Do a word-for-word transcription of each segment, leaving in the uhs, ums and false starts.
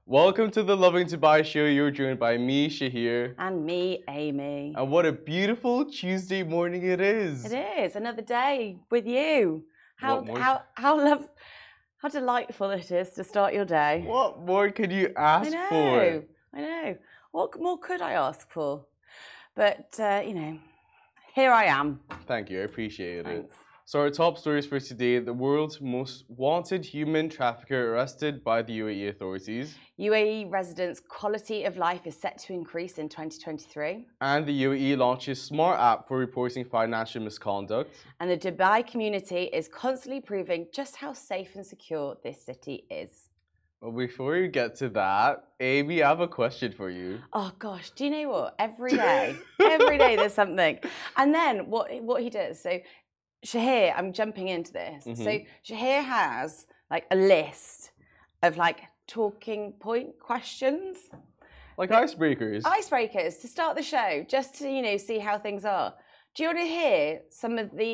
Welcome to the Loving Dubai show. You're joined by me, Shahir. And me, Amy. And what a beautiful Tuesday morning it is. It is another day with you. How What more- how how love how delightful it is to start your day. What more could you I ask know. for? I know. What more could I ask for? But uh, you know, here I am. Thank you, I appreciate it. Thanks. So our top stories for today: the world's most wanted human trafficker arrested by the U A E authorities, U A E residents' quality of life is set to increase in twenty twenty-three. and the U A E launches smart app for reporting financial misconduct. And the Dubai community is constantly proving just how safe and secure this city is. But before we get to that, Amy, I have a question for you. Oh gosh, do you know what? Every day, every day there's something. And then what what he does, so Shahir, I'm jumping into this. Mhm. So Shahir has like a list of like talking point questions, Like icebreakers. icebreakers to start the show, just to, you know, see how things are. Do you want to hear some of the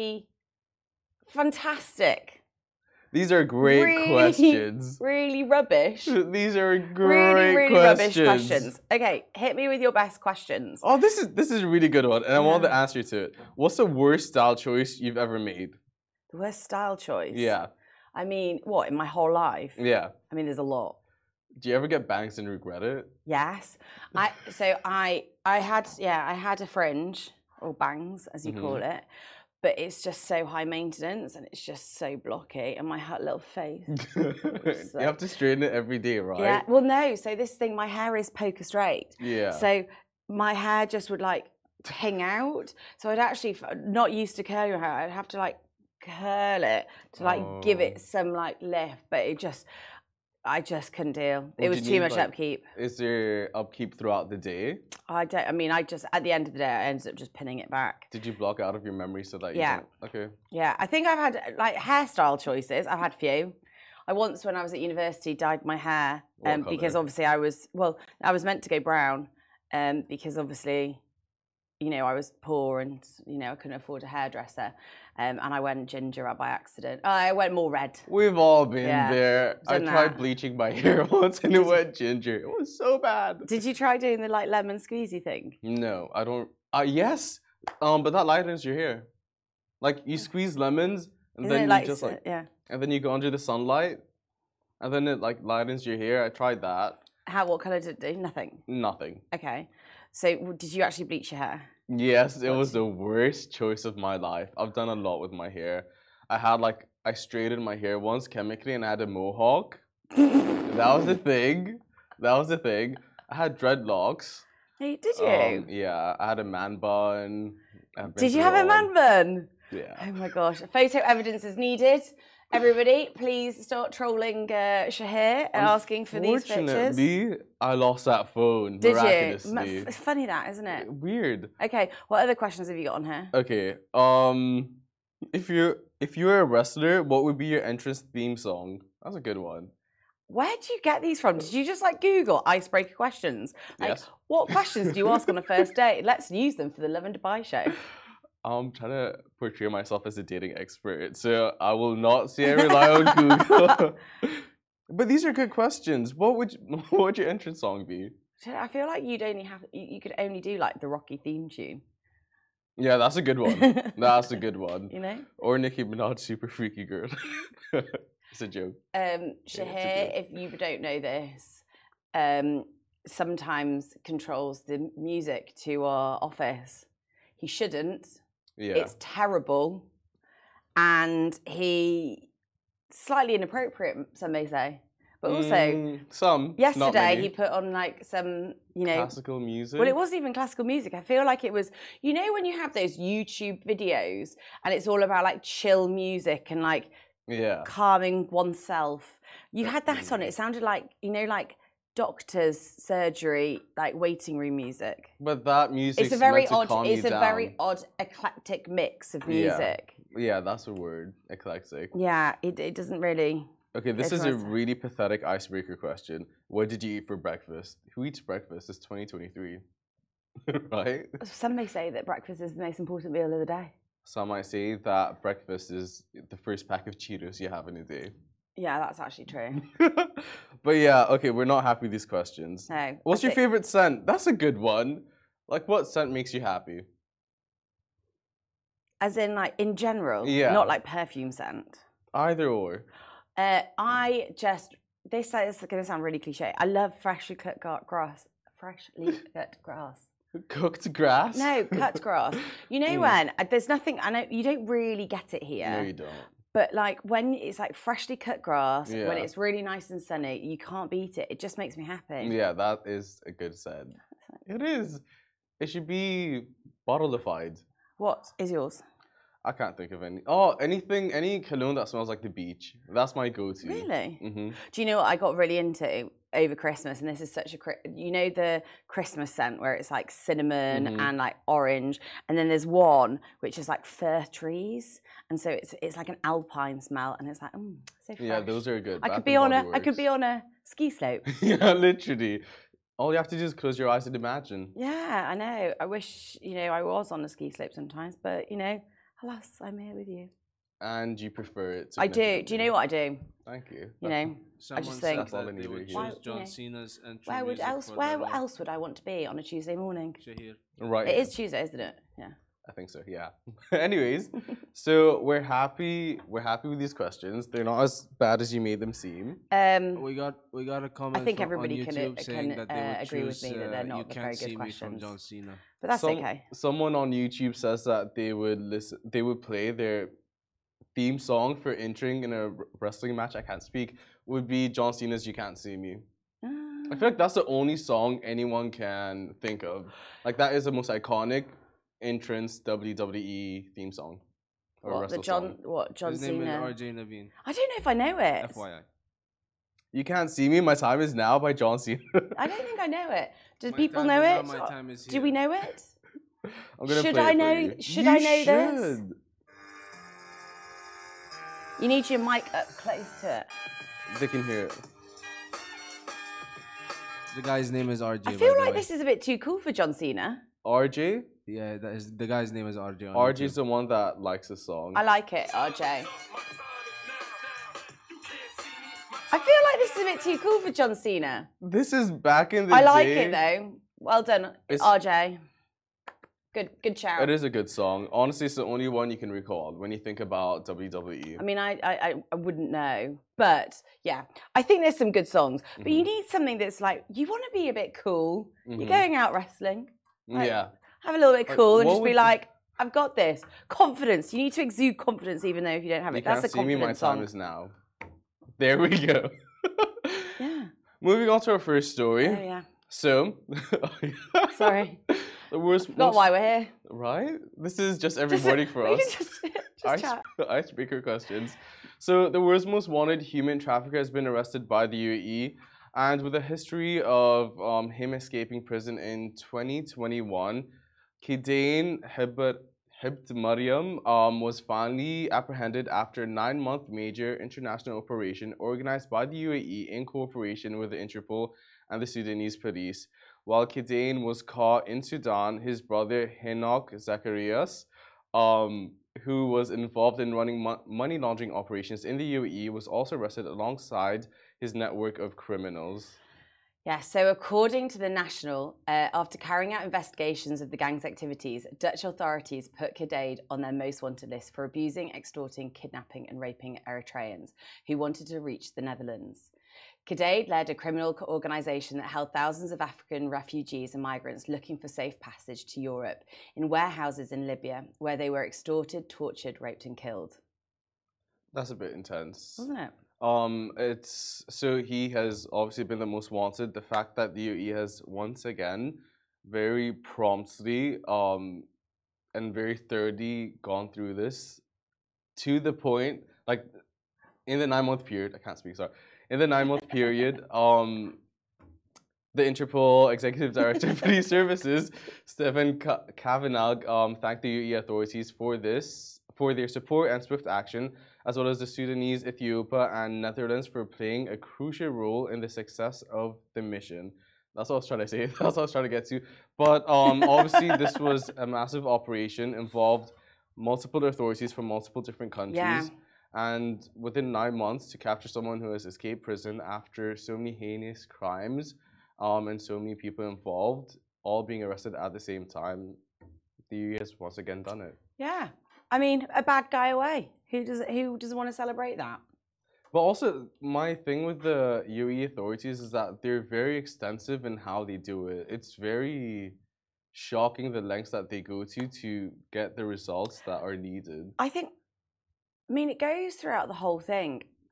fantastic, These are great really, questions. really rubbish, These are great really, really questions. rubbish questions? Okay, hit me with your best questions. Oh, this is this is a really good one, and I want the Yeah. answer to it. What's the worst style choice you've ever made? The worst style choice. Yeah, I mean, what, in my whole life? yeah. I mean, there's a lot. Do you ever get bangs and regret it? Yes. I so I I had yeah, I had a fringe or bangs as you call it. But it's just so high maintenance and it's just so blocky and my hot little face. You have to straighten it every day, right? Yeah. Well no, so this thing, my hair is poker straight. Yeah. So my hair just would like hang out. So I'd actually not used to curl your hair. I'd have to like curl it to like give Oh. it some like lift. But it just I just couldn't deal. What It do was you too need, much like- upkeep. Is there upkeep throughout the day? I don't. I mean, I just at the end of the day, I ended up just pinning it back. Did you block out of your memory so that you Yeah. don't? Okay. Yeah, I think I've had like hairstyle choices. I've had few. I once, when I was at university, dyed my hair What um, because colour? obviously I was well, I was meant to go brown um, because obviously, you know, I was poor and you know I couldn't afford a hairdresser, um, and I went ginger by accident. Oh, I went more red. We've all been Yeah, there. I done tried that. bleaching my hair once and it went ginger. It was so bad. Did you try doing the like lemon squeezy thing? No, I don't. Uh, yes, um, but that lightens your hair. Like you squeeze lemons, and Isn't then it you like just so- like, yeah? and then you go under the sunlight, and then it like lightens your hair. I tried that. How? What color did it do? Nothing. Nothing. Okay. So w- did you actually bleach your hair? Yes, it What was did- the worst choice of my life. I've done a lot with my hair. I had like I straightened my hair once chemically, and I had a mohawk. That was the thing. That was the thing. I had dreadlocks. Hey, did you? Um, yeah, I had a man bun. I've been did you through have a it all. man bun? Yeah. Oh my gosh. Photo evidence is needed. Everybody, please start trolling uh, Shahir and asking for these pictures. Unfortunately, I lost that phone Did you? miraculously. M- It's funny that, isn't it? Weird. Okay, what other questions have you got on here? Okay. Um, if you if you were a wrestler, what would be your entrance theme song? That's a good one. Where do you get these from? Did you just like Google icebreaker questions? Like, Yes. what questions do you ask on a first date? Let's use them for the Love and Dubai show. I'm trying to portray myself as a dating expert, so I will not say I rely on Google. But these are good questions. What would you, what would your entrance song be? I feel like you'd only have you you could only do like the Rocky theme tune. Yeah, that's a good one. That's a good one. You know? Or Nicki Minaj, Super Freaky Girl. It's a joke. Um, it's a Shahir, joke. if you don't know this, um, sometimes controls the music to our office. He shouldn't. Yeah. It's terrible, and he slightly inappropriate. Some may say, but also Mm, some. not yesterday many. he put on like some, you know. Classical music. Well, it wasn't even classical music. I feel like it was, you know, when you have those YouTube videos and it's all about like chill music and like Yeah. calming oneself. You had that on. It sounded like, you know, like doctor's surgery, like waiting room music. But that music. It's a very meant to odd. calm It's you a down. very odd eclectic mix of Yeah. music. Yeah, that's a word. Eclectic. Yeah, it it doesn't really. Okay, this Go is for a it. really pathetic icebreaker question. What did you eat for breakfast? Who eats breakfast? It's twenty twenty-three. Right? Some may say that breakfast is the most important meal of the day. Some might say that breakfast is the first pack of Cheetos you have in a day. Yeah, that's actually true. But yeah, okay, we're not happy with these questions. No. What's I your thi- favorite scent? That's a good one. Like, what scent makes you happy? As in, like, in general, Yeah. not like perfume scent. Either or. Uh, I just, this is going to sound really cliche. I love freshly cut gra- grass. Freshly cut grass. Cooked grass? No, cut grass. You know Mm. when? uh, There's nothing, I know, you don't really get it here. No, you don't. But like when it's like freshly cut grass, when Yeah. it's really nice and sunny, you can't beat it. It just makes me happy. Yeah, that is a good scent. It is. It should be bottleified. What is yours? I can't think of any. Oh, anything, any cologne that smells like the beach. That's my go-to. Really? Mm-hmm. Do you know what I got really into over Christmas? And this is such a, Chri- you know, the Christmas scent where it's like cinnamon Mhm. and like orange, and then there's one which is like fir trees, and so it's it's like an alpine smell, and it's like, mm, so fresh. Yeah, those are good. I Bath could be and on a, Body I could be Works. on a ski slope. Yeah, literally. All you have to do is close your eyes and imagine. Yeah, I know. I wish, you know, I was on a ski slope sometimes, but you know, alas, I'm here with you. And you prefer it. I do. Do you know what I do? Thank you. You know, Someone just said think- That's all I that they needed would here. Why- choose you John know, Cena's entry where would music else? for Where their role. else would I want to be on a Tuesday morning? Shahir. Right. It is Tuesday, isn't it? Yeah. I think so. Yeah. Anyways, so we're happy. We're happy with these questions. They're not as bad as you made them seem. Um, We got we got a comment. think from, everybody on can, YouTube uh, saying can, that they would uh, agree with choose, me that they're uh, not You the Can't very good See Me from questions. John Cena. but that's Some- okay. Someone on YouTube says that they would listen. They would play their theme song for entering in a wr- wrestling match. I can't speak. Would be John Cena's "You Can't See Me." I feel like that's the only song anyone can think of. Like that is the most iconic entrance W W E theme song or What, the wrestle John? song. What John His name Cena? is R J Naveen. I don't know if I know it. F Y I. You Can't See Me. My Time Is Now by John Cena. I don't think I know it. Do My people time know is it? now, my time is Do here. we know it? I'm gonna Should play I it for know- you. should You I know this? should. You need your mic up close to it. They can hear it. The guy's name is R J. I by feel the like way. this is a bit too cool for John Cena. R J. Yeah, that is the guy's name is R J. on R J is YouTube. the one that likes the song. I like it, R J. I feel like this is a bit too cool for John Cena. This is back in the I like day. it though. Well done, It's- R J. Good, good shout. It is a good song. Honestly, it's the only one you can recall when you think about W W E. I mean, I, I, I- I wouldn't know, but yeah, I think there's some good songs. But you Mhm. need something that's like you want to be a bit cool. Mhm. You're going out wrestling. like- Yeah. Have a little bit Like, cool and what just be would- like, I've got this. Confidence. You need to exude confidence even though if you don't have You it. That's Can't a See Me. My confidence Time song. Is Now. There we go. Yeah. Moving on to our first story. Oh yeah. So, Sorry. the worst. Forgot most- why we're here. Right? This is just every Just- morning for we us. can just, just Ice, chat. icebreaker questions. So the world's most wanted human trafficker has been arrested by the U A E, and with a history of um, him escaping prison in twenty twenty-one, Kidain Hibt Hibt Mariam um, was finally apprehended after a nine-month major international operation organized by the U A E in cooperation with the Interpol and the Sudanese police. While Kidain was caught in Sudan, his brother Henok Zacharias, um, who was involved in running mo- money laundering operations in the U A E, was also arrested alongside his network of criminals. Yeah, so according to the National, uh, after carrying out investigations of the gang's activities, Dutch authorities put Kidaid on their most wanted list for abusing, extorting, kidnapping, and raping Eritreans who wanted to reach the Netherlands. Kidaid led a criminal co- organization that held thousands of African refugees and migrants looking for safe passage to Europe in warehouses in Libya, where they were extorted, tortured, raped, and killed. That's a bit intense. Wasn't it? Um, it's so he has obviously been the most wanted. The fact that the U A E has once again, very promptly, um, and very thoroughly gone through this, to the point like in the nine month period. I can't speak. Sorry. In the nine month period, um, the Interpol Executive Director of Police Services, Stefan Ka- Kavanagh, um, thanked the U A E authorities for this, for their support and swift action, as well as the Sudanese, Ethiopia, and Netherlands for playing a crucial role in the success of the mission. That's what I was trying to say. That's what I was trying to get to. But um, obviously, this was a massive operation, involved multiple authorities from multiple different countries. Yeah. And within nine months, to capture someone who has escaped prison after so many heinous crimes, um, and so many people involved, all being arrested at the same time, the U A E has once again done it. Yeah. I mean, a bad guy away. Who does who doesn't want to celebrate that? But also, my thing with the U A E authorities is that they're very extensive in how they do it. It's very shocking the lengths that they go to to get the results that are needed. I think, I mean, it goes throughout the whole thing.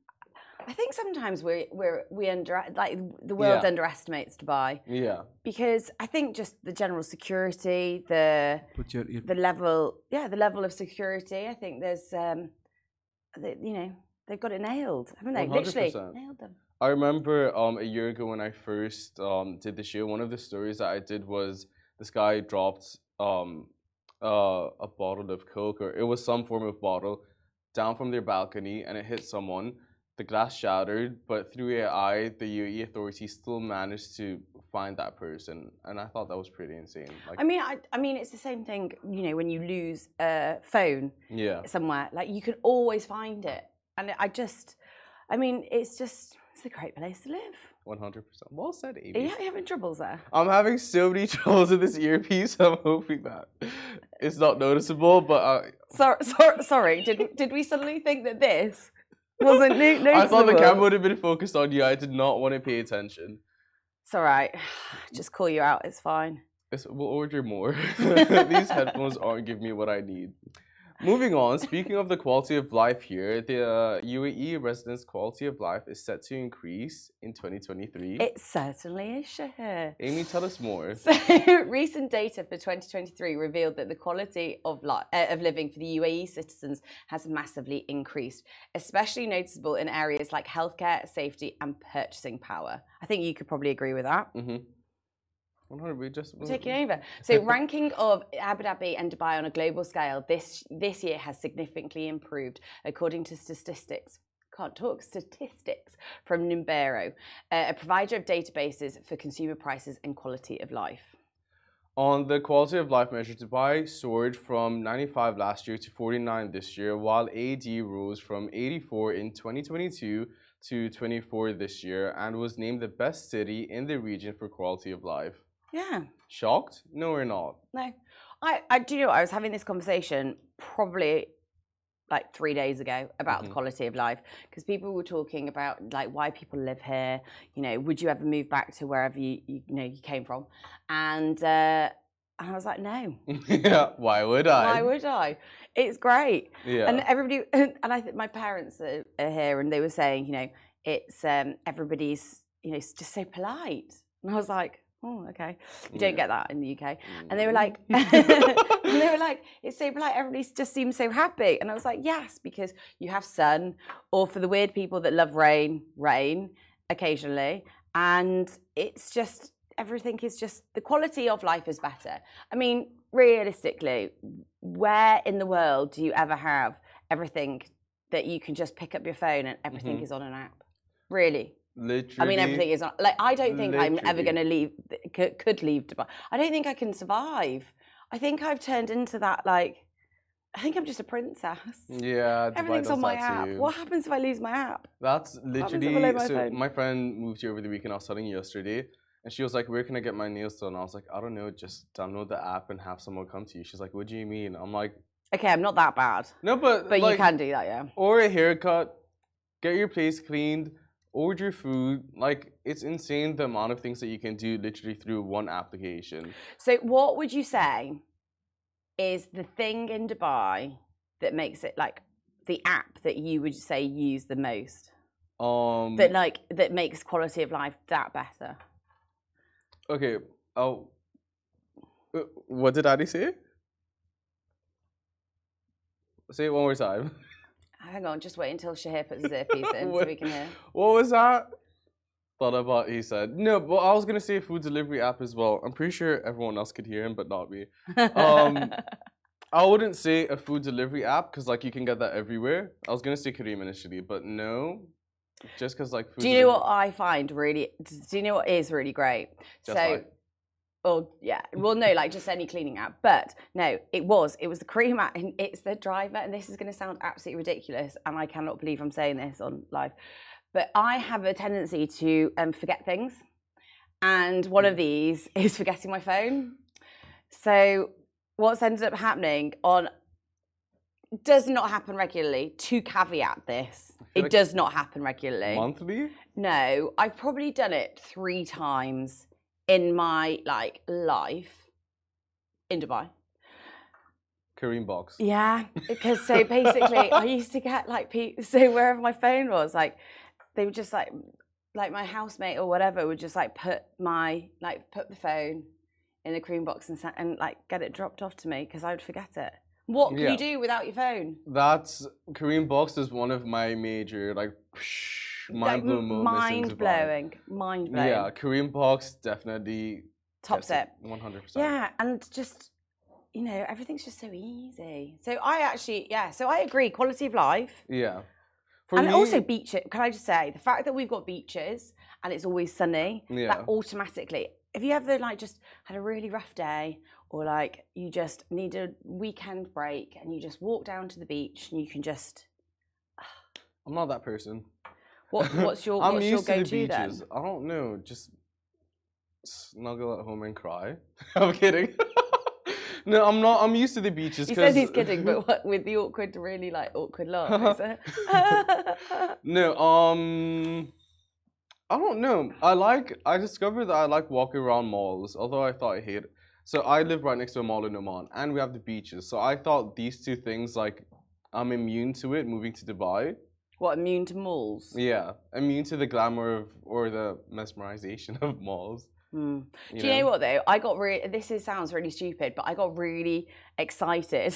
I think sometimes we we're we under like the world Yeah. underestimates Dubai Yeah. because I think just the general security, the Put your ear. the level, yeah, the level of security. I think there's, um, the, you know, they've got it nailed, haven't they? one hundred Literally percent. nailed them. I remember um, a year ago when I first um, did the show, one of the stories that I did was this guy dropped um, uh, a bottle of Coke, or it was some form of bottle, down from their balcony, and it hit someone. The glass shattered, but through A I, the U A E authorities still managed to find that person, and I thought that was pretty insane. Like, I mean, I, I mean, it's the same thing. You know, when you lose a phone yeah, somewhere, like you can always find it, and I just, I mean, it's just it's a great place to live. one hundred percent. Well said, Amy. Are you, are you having troubles there? I'm having so many troubles with this earpiece. I'm hoping that it's not noticeable, but uh, Sorry, sorry, sorry. Did did we suddenly think that this wasn't no- noticeable? I thought the camera would have been focused on you. I did not want to pay attention. It's all right. Just call you out. It's fine. It's, we'll order more. These headphones aren't giving me what I need. Moving on, speaking of the quality of life here, the uh, U A E residents' quality of life is set to increase in twenty twenty-three. It certainly is, Shahir. Amy, tell us more. So, recent data for twenty twenty-three revealed that the quality of, li- uh, of living for the U A E citizens has massively increased, especially noticeable in areas like healthcare, safety, and purchasing power. I think you could probably agree with that. Mm-hmm. We just Taking over. So, ranking of Abu Dhabi and Dubai on a global scale this this year has significantly improved, according to statistics. Can't talk statistics from Numbero, uh, a provider of databases for consumer prices and quality of life. On the quality of life measure, Dubai soared from ninety-five last year to forty-nine this year, while A D rose from eighty-four in twenty twenty-two to twenty-four this year, and was named the best city in the region for quality of life. Yeah. Shocked? No, we're not. No. I, I do you know, I was having this conversation probably like three days ago about Mhm. the quality of life because people were talking about like why people live here. You know, would you ever move back to wherever you you, you know you came from? And uh, and I was like, no. Yeah, why would I? Why would I? It's great. Yeah. And everybody and I think my parents are, are here and they were saying, you know, it's um, everybody's you know it's just so polite. And I was like, oh, okay. You don't Yeah. get that in the U K. And they were like, and they were like, it's so polite. Everybody just seems so happy. And I was like, yes, because you have sun, or for the weird people that love rain, rain occasionally. And it's just, everything is just, the quality of life is better. I mean, realistically, where in the world do you ever have everything that you can just pick up your phone and everything Mhm. is on an app? Really? Literally. I mean, everything is not like I don't think I'm ever Literally. going to leave. Could, could leave Dubai. I don't think I can survive. I think I've turned into that. Like, I think I'm just a princess. Yeah, Dubai Everything's does on my that app. too. What happens if I lose my app? That's happens if I literally lose my so. phone? My friend moved here over the weekend. I was telling you yesterday, and she was like, "Where can I get my nails done?" I was like, "I don't know. Just download the app and have someone come to you." She's like, "What do you mean?" I'm like, Okay, I'm not that bad, "No, but but like, you can do that, yeah. or a haircut, get your place cleaned, order food. Like, it's insane the amount of things that you can do literally through one application." So, what would you say is the thing in Dubai that makes it like the app that you would say use the most? Um. That like that makes quality of life that better? Okay. Oh. uh, What did Addy say? Say it one more time. Hang on, just wait until Shahir puts his earpiece in so we can hear. What was that? Thought about he said. No, but I was gonna say food delivery app as well. I'm pretty sure everyone else could hear him, but not me. Um, I wouldn't say a food delivery app because like you can get that everywhere. I was gonna say Kareem initially, but no, just because like food. Do you know delivery- what I find really? Do you know what is really great? Just so, like- Or yeah, well, no, like just any cleaning app. But no, it was. It was the Careem app, and it's the driver. And this is going to sound absolutely ridiculous, and I cannot believe I'm saying this on live. But I have a tendency to um, forget things, and one of these is forgetting my phone. So what's ended up happening on does not happen regularly. To caveat this, it like does not happen regularly. Monthly? No, I've probably done it three times in my like life in Dubai. Kareem box. Yeah, because so basically I used to get like pe- so wherever my phone was, like they would just like like my housemate or whatever would just like put my like put the phone in the Kareem box and sa- and like get it dropped off to me because I would forget it. What can Yeah. you do without your phone? That's Kareem box is one of my major like mind blowing moments. Mind blowing, mind blowing. Yeah, Kareem box definitely Tops it. One hundred percent. Yeah, and just you know everything's just so easy. So I actually yeah, so I agree. Quality of life. Yeah. For And me, also beaches. Can I just say the fact that we've got beaches and it's always sunny, Yeah. that automatically. If you ever like just had a really rough day, or like you just need a weekend break, and you just walk down to the beach and you can just. I'm not that person. What what's your I'm what's used your to go the to then? beaches. I don't know, just snuggle at home and cry. I'm kidding. No, I'm not. I'm used to the beaches. He 'cause- says he's kidding, but what, with the awkward, really like awkward laugh, is it? No, um, I don't know. I like. I discovered that I like walking around malls, although I thought I hate it. So I live right next to a mall in Oman, and we have the beaches. So I thought these two things, like, I'm immune to it moving to Dubai. What, immune to malls? Yeah, immune to the glamour of or the mesmerization of malls. Hmm. Do you know what though? I got really. This is, sounds really stupid, but I got really excited.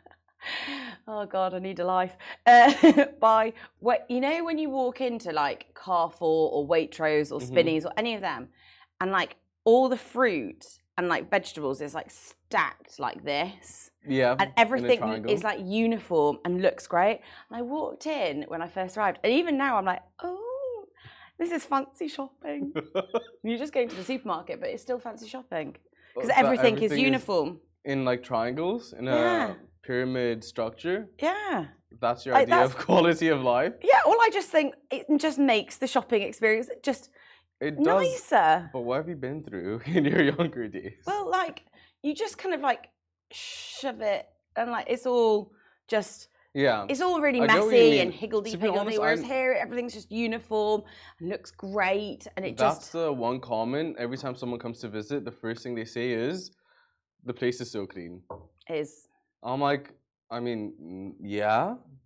Oh God, I need a life. Uh, by what you know when you walk into like Carrefour or Waitrose or Mhm. Spinneys or any of them, and like all the fruit and like vegetables is like stacked like this, Yeah, and in a everything triangle. is like uniform and looks great. And I walked in when I first arrived, and even now I'm like, oh. This is fancy shopping. You're just going to the supermarket, but it's still fancy shopping because That everything, is everything is uniform. in like triangles in Yeah. a pyramid structure. Yeah, That's your Like, idea that's- of quality of life. yeah. Well, I just think it just makes the shopping experience just It does. nicer. But what have you been through in your younger days? Well, like you just kind of like shove it, and like it's all just. yeah. It's all really I get what you messy mean. and higgledy To be piggledy. honest, Whereas I'm- here, everything's just uniform and looks great, and it That's just the one comment. Every time someone comes to visit, the first thing they say is, "The place is so clean." is. I'm like, I mean, mm, yeah.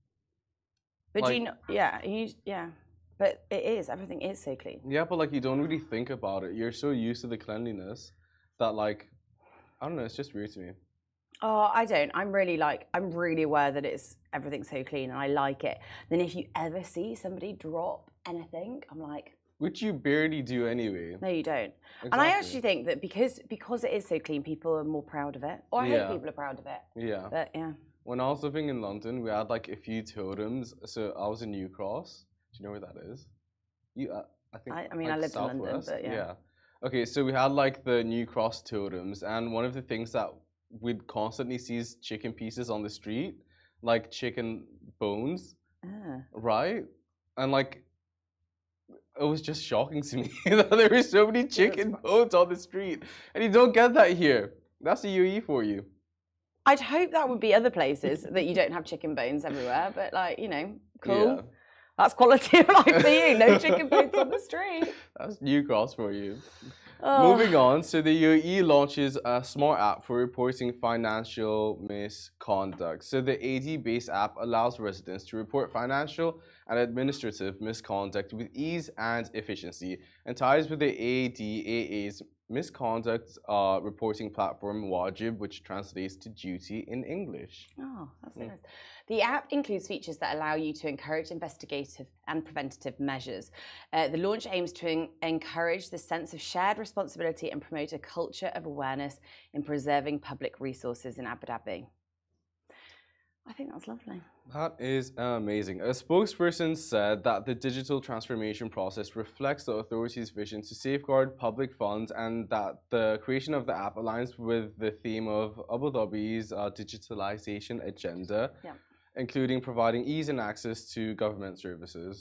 But do you Like- know? Yeah, you. Yeah, but it is. Everything is so clean. Yeah, but like you don't really think about it. You're so used to the cleanliness that like, I don't know. It's just weird to me. Oh, I don't. I'm really like, I'm really aware that it's everything's so clean and I like it. Then if you ever see somebody drop anything, I'm like, Which you barely do anyway. no, you don't. Exactly. And I actually think that because because it is so clean, people are more proud of it. Or I Yeah. hope people are proud of it. Yeah. But yeah. When I was living in London, we had like a few totems. So I was in New Cross. Do you know where that is? You, uh, I think. I- I mean, like, I lived in London, southwest? but yeah. Okay, so we had like the New Cross totems, and one of the things that we'd constantly see is chicken pieces on the street, like chicken bones, Ah. right? And like, it was just shocking to me that there were so many chicken bones on the street, and you don't get that here. That's the U A E for you. I'd hope that would be other places that you don't have chicken bones everywhere. But like, you know, cool. Yeah. That's quality of life for you. No chicken bones on the street. That's New Cross for you. Oh. Moving on, so the U A E launches a smart app for reporting financial misconduct. So the A D-based app allows residents to report financial and administrative misconduct with ease and efficiency, and ties with the A D A A's misconduct uh, reporting platform Wajib, which translates to duty in English. Oh, that's so Mm. nice. The app includes features that allow you to encourage investigative and preventative measures. Uh, the launch aims to en- encourage the sense of shared responsibility and promote a culture of awareness in preserving public resources in Abu Dhabi. I think that's lovely. That is amazing. A spokesperson said that the digital transformation process reflects the authority's vision to safeguard public funds and that the creation of the app aligns with the theme of Abu Dhabi's uh, digitalization agenda, Yeah. including providing ease and access to government services.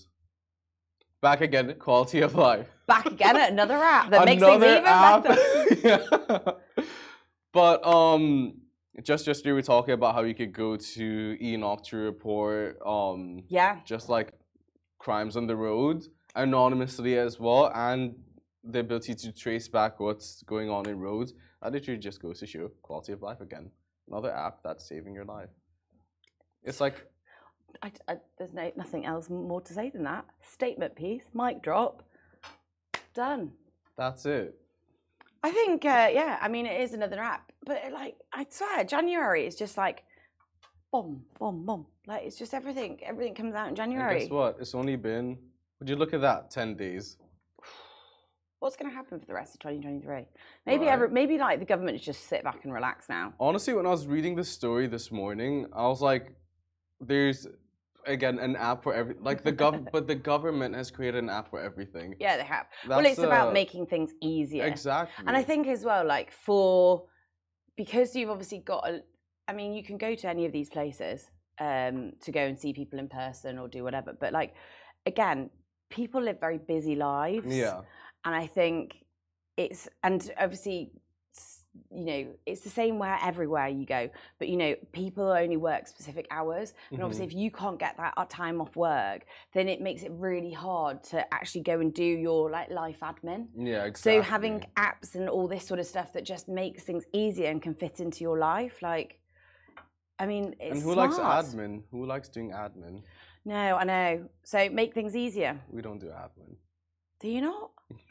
Back again, quality of life. Back again at another app that makes things Another even app. better. Yeah. But um, just yesterday we were talking about how you could go to Enoch to report um Yeah. just like crimes on the road anonymously as well, and the ability to trace back what's going on in roads. That literally just goes to show quality of life again. Another app that's saving your life. It's like I, I, there's no nothing else more to say than that. Statement piece, mic drop, done. that's it. I think, uh, yeah, I mean, it is another app, but like, I swear, January is just like, boom, boom, boom. Like, it's just everything. Everything comes out in And January. guess what? It's only been. Would you look at that? Ten days. What's going to happen for the rest of twenty twenty-three? Maybe, Right. every, maybe like the government just sit back and relax now. Honestly, when I was reading the story this morning, I was like, "There's again an app for every like the gov, but the government has created an app for everything." Yeah, they have. well, That's, it's about uh, making things easier. Exactly. And I think as well, like for because you've obviously got a, I mean, you can go to any of these places um, to go and see people in person or do whatever. But like, again, people live very busy lives. Yeah. And I think it's, and obviously, s- you know, it's the same where everywhere you go. But you know, people only work specific hours, and obviously, if you can't get that time off work, then it makes it really hard to actually go and do your like life admin. Yeah, exactly. So having apps and all this sort of stuff that just makes things easier and can fit into your life, like, I mean, it's And who smart. likes admin? Who likes doing admin? No, I know. So make things easier. We don't do admin. Do you not?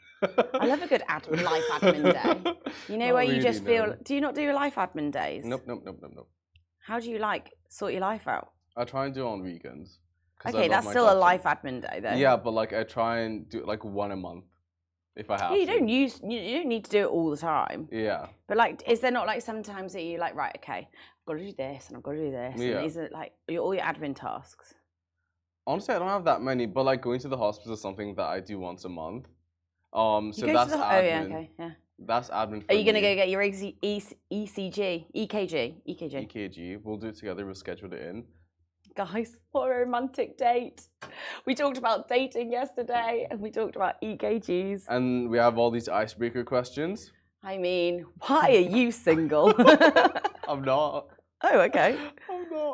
I love a good admin, life admin day. You know Not where you really, just feel. no. Do you not do life admin days? Nope, nope, nope, nope, nope. How do you like sort your life out? I try and do it on weekends. 'cause I Okay, love that's my still a job so- life admin day, though. Yeah, but like I try and do it like one a month, if I have Yeah, you to. don't use. You you don't need to do it all the time. Yeah. But like, is there not like sometimes that you like, right? Okay, I've got to do this and I've got to do this. Yeah. And these are like your, all your admin tasks. Honestly, I don't have that many, but like going to the hospital is something that I do once a month. Um, so You go that's to the, admin. oh yeah, okay, yeah. That's admin. For Are you gonna me. go get your E C, E C G, E K G, E K G? E K G? We'll do it together. We'll schedule it in. Guys, what a romantic date! We talked about dating yesterday, and we talked about E K Gs. And we have all these icebreaker questions. I mean, why are you single? I'm not. Oh, okay. I'm not.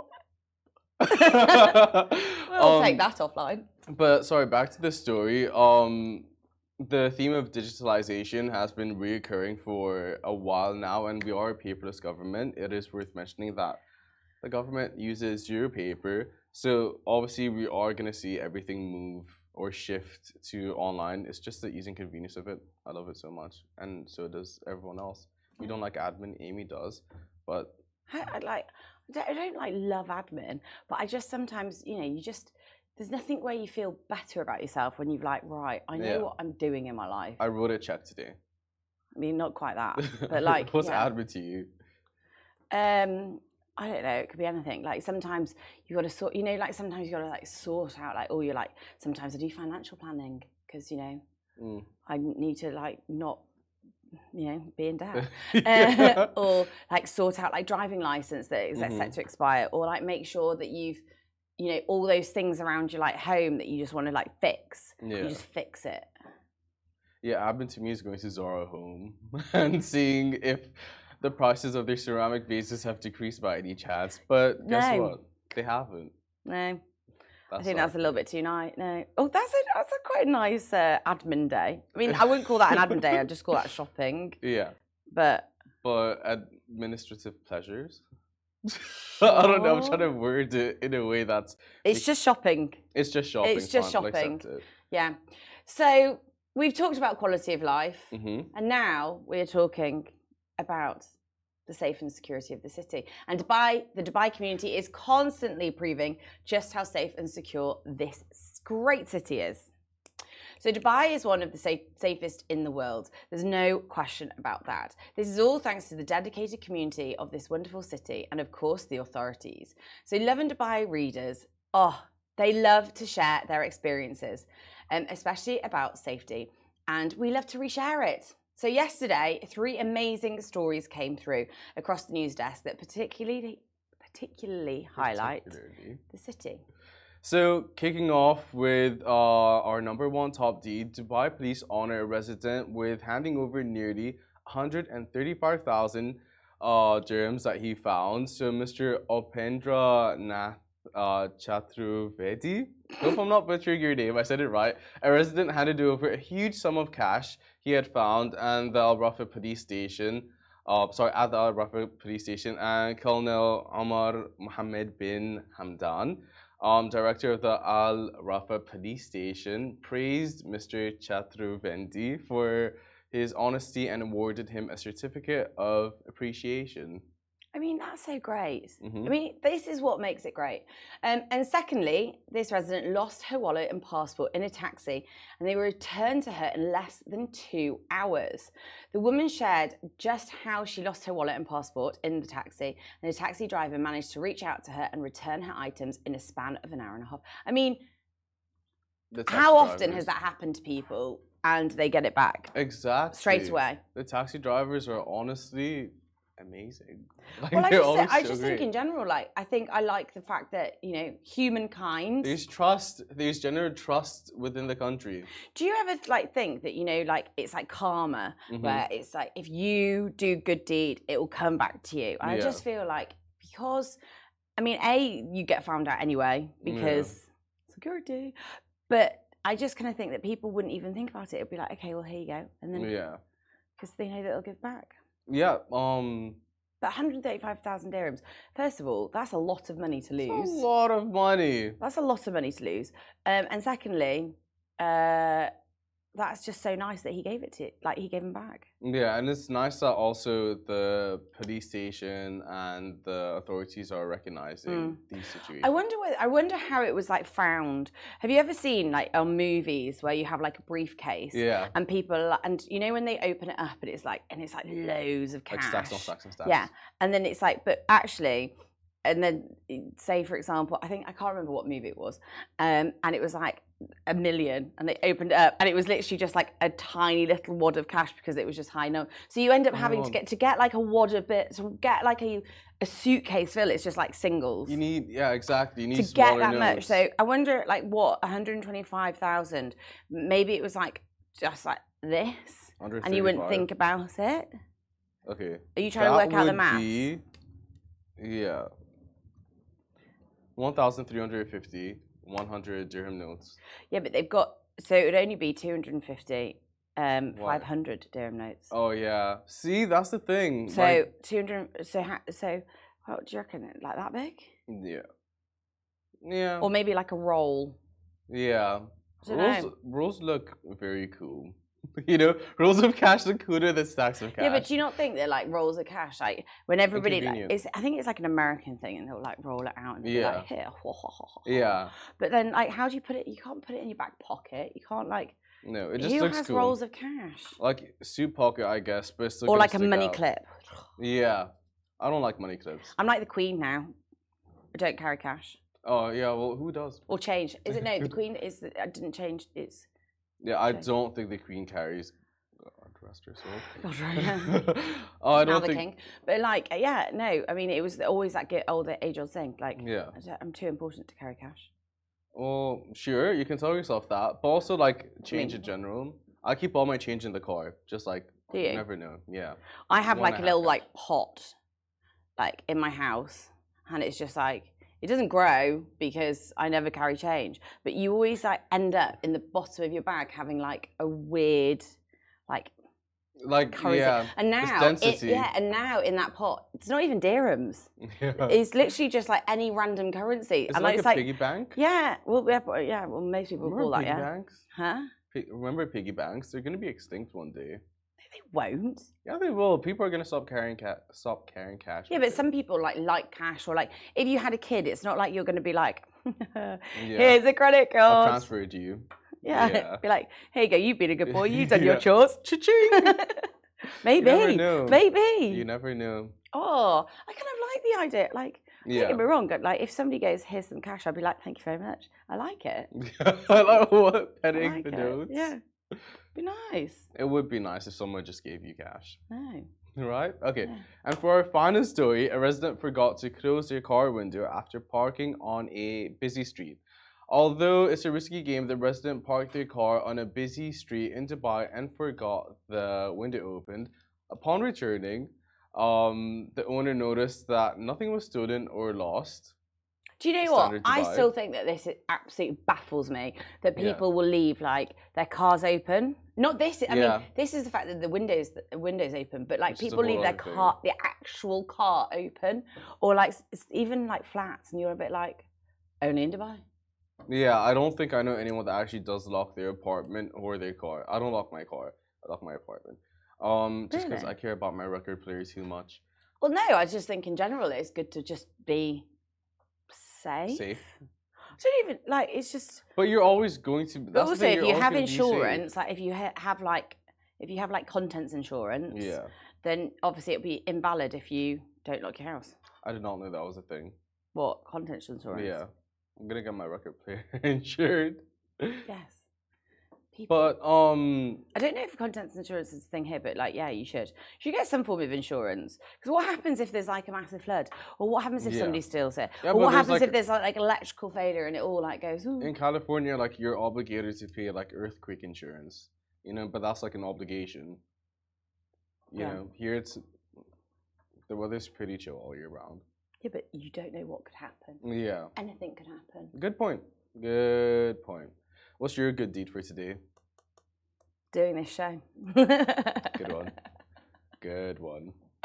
We'll Um, take that offline. But sorry, back to the story. Um, the theme of digitalization has been reoccurring for a while now, and we are a paperless government. It is worth mentioning that the government uses zero paper. So obviously, we are going to see everything move or shift to online. It's just the ease and convenience of it. I love it so much, and so does everyone else. You don't like admin, Amy does, but I, I like. I don't, I don't like love admin, but I just sometimes, you know, you just there's nothing where you feel better about yourself when you've like, right, I know Yeah. what I'm doing in my life. I wrote a check today. I mean, not quite that, but like, what's yeah. admin to you? Um, I don't know. It could be anything. Like sometimes you got to sort. You know, like sometimes you got to like sort out like, oh, you're like. Sometimes I do financial planning because you know Mm. I need to like not, you know, be in debt, Yeah. uh, or like sort out like driving license that is like, Mhm. set to expire, or like make sure that you've, you know, all those things around your like home that you just want to like fix. Yeah. You just fix it. Yeah, admin to me is going to Zara Home and seeing if the prices of their ceramic vases have decreased by any chance. But guess No. what? They haven't. No, That's I think all. that's a little bit too nice. No. Oh, that's a that's a quite nice uh, admin day. I mean, I wouldn't call that an admin day. I'd just call that shopping. Yeah, But but administrative pleasures. I don't know. I'm trying to word it in a way that's. it's just shopping. It's just shopping. It's just fun, I'll shopping. accept it. Yeah. So we've talked about quality of life, Mhm. and now we're talking about the safe and security of the city. And Dubai, the Dubai community is constantly proving just how safe and secure this great city is. So Dubai is one of the safe, safest in the world. There's no question about that. This is all thanks to the dedicated community of this wonderful city and, of course, the authorities. So Lovin Dubai readers, oh, they love to share their experiences, um, especially about safety. And we love to reshare it. So yesterday, three amazing stories came through across the news desk that particularly, particularly highlight Particularly. the city. So, kicking off with uh, our number one top deed, Dubai police honor a resident with handing over nearly one hundred thirty-five thousand uh, dirhams that he found. So, Mister Opendra Nath uh, Chaturvedi, hope I'm not butchering your name, I said it right. A resident handed over a huge sum of cash he had found and the Al Rafa police station. Uh, sorry, at the Al Rafa police station, and Colonel Omar Mohammed bin Hamdan, Um, director of the Al Rafa police station, praised Mister Chaturvedi for his honesty and awarded him a certificate of appreciation. I mean, that's so great. Mhm. I mean, this is what makes it great. Um, and secondly, this resident lost her wallet and passport in a taxi, and they were returned to her in less than two hours. The woman shared just how she lost her wallet and passport in the taxi, and the taxi driver managed to reach out to her and return her items in a span of an hour and a half. I mean, The taxi how often drivers- has that happened to people and they get it back Exactly. straight away? The taxi drivers are honestly amazing. Like, Well, I they're just, always I so just great. think in general, like, I think I like the fact that, you know, humankind. There's trust. There's general trust within the country. Do you ever like think that, you know, like it's like karma, Mhm. where it's like if you do good deed, it will come back to you. And I Yeah. just feel like because, I mean, a you get found out anyway because security, but I just kind of think that people wouldn't even think about it. It'd be like, okay, well here you go, and then Yeah. because they know that they'll give back. Yeah. Um. But one hundred thirty-five thousand dirhams. First of all, that's a lot of money to It's lose. a lot of money. That's a lot of money to lose. Um, and secondly, uh, that's just so nice that he gave it to, like he gave him back. Yeah, and it's nice that also the police station and the authorities are recognizing Mm. these situations. I wonder what, I wonder how it was like found. Have you ever seen like on movies where you have like a briefcase Yeah, and people and you know when they open it up and it's like and it's like loads of cash. like stacks on stacks on stacks. Yeah, and then it's like, but actually, and then say for example, I think I can't remember what movie it was, um, and it was like a million, and they opened it up, and it was literally just like a tiny little wad of cash because it was just high note. So you end up having to Oh. get to get like a wad of bit to get like a a suitcase full. It's just like singles. You need, yeah, exactly. You need To get smaller that much. notes. So I wonder, like, what one hundred twenty-five thousand? Maybe it was like just like this, and you wouldn't think about it. Okay. Are you trying to work out the would maths? be- yeah. one thousand three hundred fifty, one hundred dirham notes. Yeah, but they've got so it would only be two hundred fifty, um, Why? five hundred dirham notes. Oh yeah. See, that's the thing. So like, two hundred. So ha- so, what do you reckon? Like that big, yeah. Yeah. or maybe like a roll? Yeah. I don't Rolls, know. rolls look very cool. You know, rolls of cash look cooler than stacks of cash. Yeah, but do you not think that like rolls of cash, like when everybody like, Inconvenient. it's, I think it's like an American thing, and they'll like roll it out and they'll Yeah. be like here. Yeah. But then, like, how do you put it? You can't put it in your back pocket. You can't like. No, it just Who looks has cool. rolls of cash? Like suit pocket, I guess, but it's still Or gonna like a stick money out. clip. Yeah. I don't like money clips. I'm like the Queen now. I don't carry cash Oh yeah, well who does? or change. Is it no? The Queen is. The, I didn't change. It's. Yeah, I Okay. don't think the Queen carries. God rest her soul. God, right. Oh, I now don't the think. king. But like, yeah, no. I mean, it was always that get old age old thing. Like, Yeah. I don't- I'm too important to carry cash. Well, sure, you can tell yourself that, but also like change in general. I keep all my change in the car, just like Do you? never know. Yeah. I have One like a and a half little cash. like pot, like in my house, and it's just like it doesn't grow because I never carry change. But you always like end up in the bottom of your bag having like a weird, like Like currency. yeah. And it's now, it, density. yeah, and now in that pot, it's not even dirhams. Yeah. It's literally just like any random currency. It's and like it's a like, piggy bank. yeah, well, yeah, but- yeah, well, most people Remember call that, piggy yeah. banks? Huh? Pi- Remember piggy banks? They're gonna be extinct one day. They won't. Yeah, they will. People are gonna stop carrying ca- stop carrying cash. Yeah, one but day. some people like like cash or like if you had a kid, it's not like you're going to be like, Yeah. here's a credit I'll card. transfer it to you. Yeah. Yeah. Be like, here you go, you've been a good boy, you've done your Yeah. chores. Cha-ching! Maybe. You never know. Maybe. You never know. Oh, I kind of like the idea. Like, don't Yeah. get me wrong. but, Like, if somebody goes, here's some cash, I'd be like, thank you very much. I like it. I like what I petting like the it. notes. Yeah. Be nice. It would be nice if someone just gave you cash. No. Right? Okay. Yeah. And for our final story, a resident forgot to close their car window after parking on a busy street. Although it's a risky game, the resident parked their car on a busy street in Dubai and forgot the window opened. Upon returning, um, the owner noticed that nothing was stolen or lost. Do you know what? Standard I Dubai. still think that this is absolutely baffles me that Yeah. people will leave like their cars open. Not this. I Yeah. mean, this is the fact that the windows the windows open, but like Which is a people leave whole their other thing. car, the actual car open, or like s- it's even like flats, and you're a bit like, only in Dubai. Yeah, I don't think I know anyone that actually does lock their apartment or their car. I don't lock my car. I lock my apartment. Um, just because Really? I care about my record player too much. Well, no, I just think in general it's good to just be safe. Safe. I don't even like. It's just. But you're always going to. But That's the also, thing, if you're you always have gonna be safe. insurance, like if you ha- have like if you have like contents insurance, Yeah, then obviously it'll be invalid if you don't lock your house. I did not know that was a thing. What contents insurance? Yeah, I'm gonna get my record player insured. Yes. People. But um, I don't know if contents insurance is a thing here, but like, yeah, you should. You should get some form of insurance. Because what happens if there's like a massive flood, or what happens if Yeah. somebody steals it, Yeah, or but what there's, happens like- if there's like, like electrical failure and it all like goes. Ooh. in California, like you're obligated to pay like earthquake insurance, you know. But that's like an obligation. You Yeah. know, here it's the weather's pretty chill all year round. Yeah, but you don't know what could happen. Yeah, Anything could happen. good point. Good point. What's your good deed for today? Doing this show. Good one. Good one.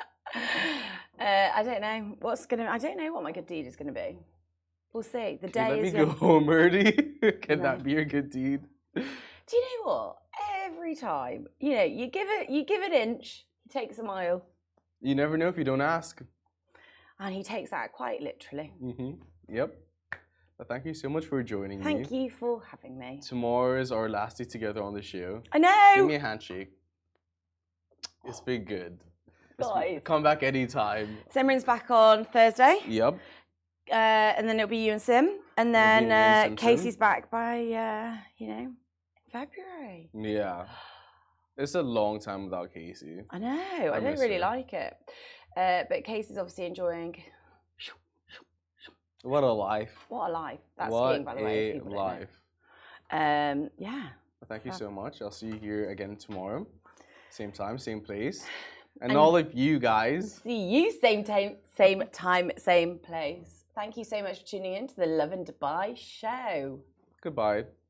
Uh, I don't know what's gonna. I don't know what my good deed is gonna be. We'll see. The Can day you let is me go young. home early? Can No. that be your good deed? Do you know what? Every time, you know, you give it, you give an inch, he takes a mile, You never know if you don't ask. and he takes that quite literally. Mm-hmm. Yep. But thank you so much for joining me. Thank you for having me. Tomorrow is our last day together on the show. I know. Give me a handshake. It's been good. It's been- Guys. come back anytime. Simran's back on Thursday, Yep. uh, and then it'll be you and Sim, and then me and uh, Sim Sim. Casey's back by uh, you know February. Yeah. It's a long time without Casey. I know. I, I don't miss really her. like it, uh, but Casey's obviously enjoying. What a life. What a life! That's what skiing, by the way. if a people don't know. life. Um, yeah. Well, thank you Fab. so much. I'll see you here again tomorrow. Same time, same place. And, And- all of you guys, See you same time, same time, same place. Thank you so much for tuning in to the Love in Dubai show. goodbye.